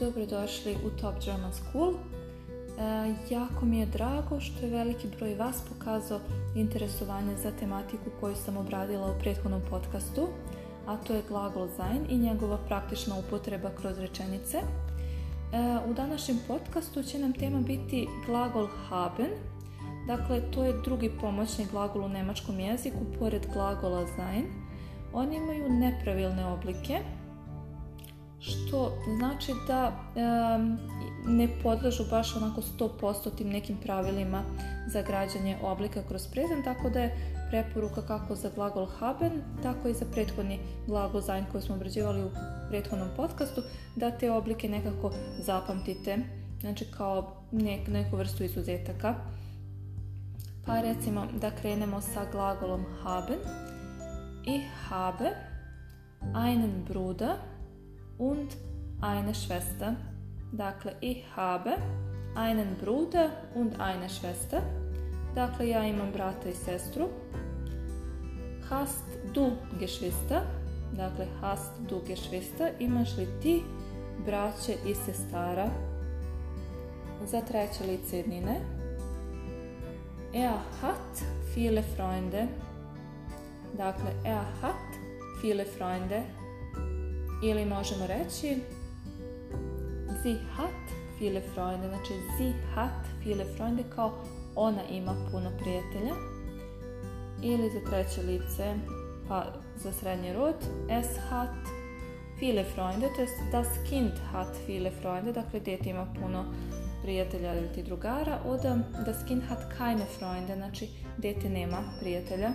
dobrodošli u Top German School. Jako mi je drago što je veliki broj vas pokazao interesovanje za tematiku koju sam obradila u prethodnom podcastu, a to je glagol sein i njegova praktična upotreba kroz rečenice. U današnjem podcastu će nam tema biti glagol haben. Dakle, to je drugi pomoćni glagol u njemačkom jeziku, pored glagola sein. Oni imaju nepravilne oblike, što znači da ne podležu baš onako 100% tim nekim pravilima za građanje oblika kroz prezent, tako da je preporuka kako za glagol haben, tako i za prethodni glagol sein koji smo obrađivali u prethodnom podcastu, da te oblike nekako zapamtite, znači kao neku vrstu izuzetaka. Pa recimo da krenemo sa glagolom haben. Ich habe einen Bruder und eine Schwester. Dakle, ich habe einen Bruder und eine Schwester. Dakle, ja imam brata i sestru. Hast du Geschwister? Dakle, hast du Geschwister? Imaš li ti braće i sestara? Za treće lice jednine. Er hat viele Freunde. Dakle, er hat viele Freunde. Ili možemo reći sie hat viele Freunde. Znači, sie hat viele Freunde kao ona ima puno prijatelja. Ili za treće lice, pa za srednji rod, es hat viele Freunde, to jest das Kind hat viele Freunde, dakle dijete ima puno prijatelja ili ti drugara, od das Kind hat keine Freunde, znači dijete nema prijatelja.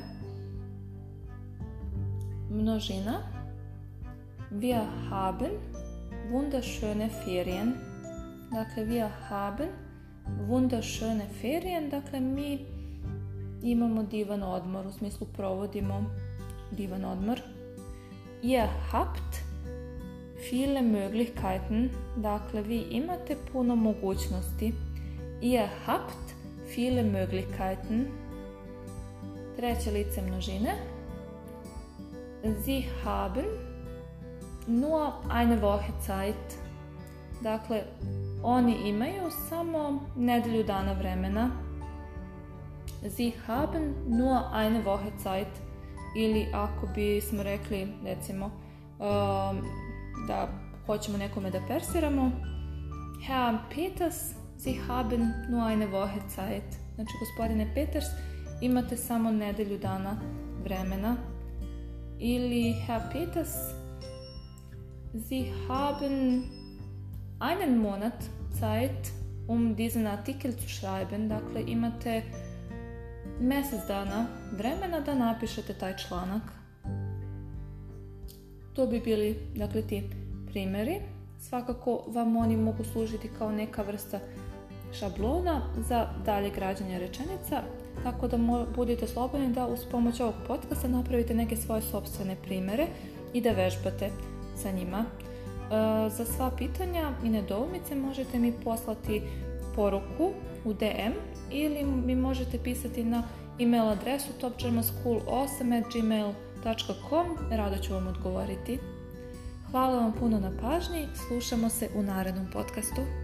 Množina. Wir haben wunderschöne Ferien. Dakle, wir haben wunderschöne Ferien, dakle mi imamo divan odmor, u smislu provodimo divan odmor. Ihr habt viele Möglichkeiten, dakle vi imate puno mogućnosti. Ihr habt viele Möglichkeiten. Treće lice množine. Sie haben nur eine Woche Zeit. Dakle, oni imaju samo nedelju dana vremena. Sie haben nur eine Woche Zeit. Ili ako bismo rekli, recimo, da hoćemo nekome da persiramo, Herr Peters, Sie haben nur eine Woche Zeit. Znači, gospodine Peters, imate samo nedelju dana vremena. Ili Herr Peters, Sie haben einen Monat Zeit, um diesen Artikel zu schreiben. Dakle, imate mjesec dana vremena da napišete taj članak. To bi bili, dakle, ti primjeri. Svakako vam oni mogu služiti kao neka vrsta šablona za dalje građanje rečenica, tako da budete slobodni da uz pomoć ovog podcasta napravite neke svoje sopstvene primjere i da vežbate sa njima. Za sva pitanja i nedoumice možete mi poslati poruku u DM ili mi možete pisati na email adresu topgermanschool8@gmail.com. Rado ću vam odgovoriti. Hvala vam puno na pažnji. Slušamo se u narednom podcastu.